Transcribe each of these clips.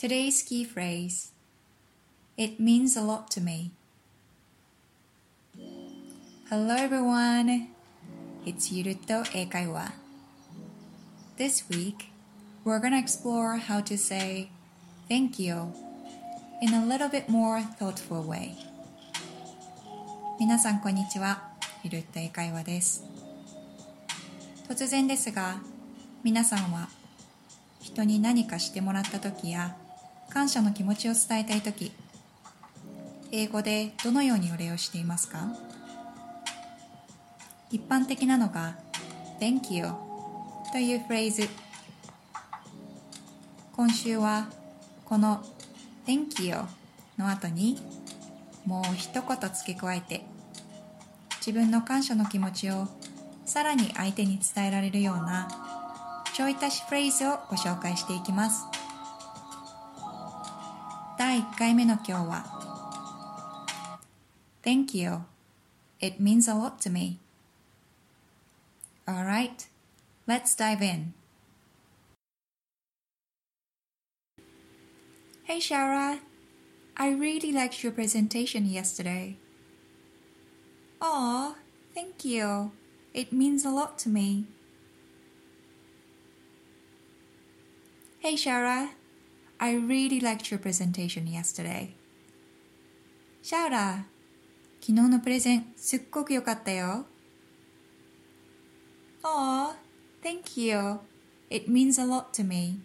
Today's key phrase. It means a lot to me. Hello everyone. It's ゆるっと英会話. This week, we're gonna explore how to say thank you in a little bit more thoughtful way. 皆さんこんにちは。ゆるっと英会話です。突然ですが、皆さんは人に何かしてもらった時や感謝の気持ちを伝えたい時、英語でどのようにお礼をしていますか？一般的なのが Thank you というフレーズ。今週はこの Thank you の後にもう一言付け加えて自分の感謝の気持ちをさらに相手に伝えられるようなちょい足しフレーズをご紹介していきます。第1回目の今日は Thank you. It means a lot to me. Alright, let's dive in. Hey Shara, I really liked your presentation yesterday. Aw, thank you. It means a lot to me. Hey Shara, I really liked your presentation yesterday. Shara, 昨日のプレゼンすっごく良かったよ。Aw, thank you. It means a lot to me.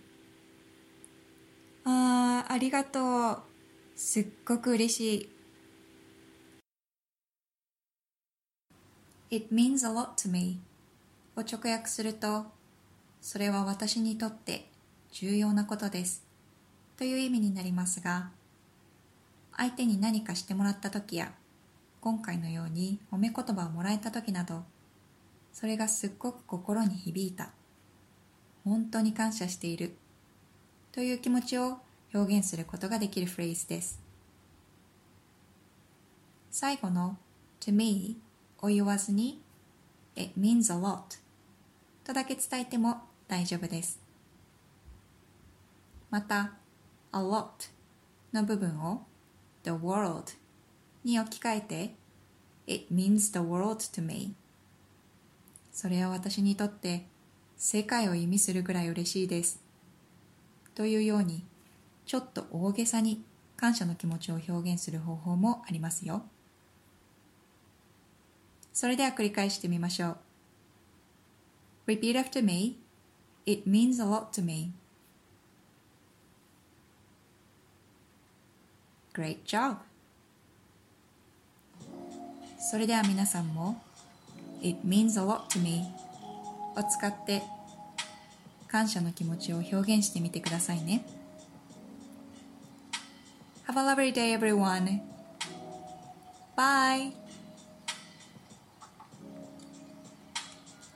ありがとう。すっごく嬉しい。It means a lot to me を直訳すると、それは私にとって重要なことですという意味になりますが、相手に何かしてもらった時や、今回のように褒め言葉をもらえた時など、それがすっごく心に響いた、本当に感謝しているという気持ちを表現することができるフレーズです。最後の to me を言わずに it means a lot とだけ伝えても大丈夫です。また a lot の部分を the world に置き換えて it means the world to me それは私にとって世界を意味するぐらい嬉しいですというようにちょっと大げさに感謝の気持ちを表現する方法もありますよ。それでは繰り返してみましょう。Repeat after me. It means a lot to me. Great job. それでは皆さんも It means a lot to me を使って感謝の気持ちを表現してみてくださいね。Have a lovely day, everyone. Bye.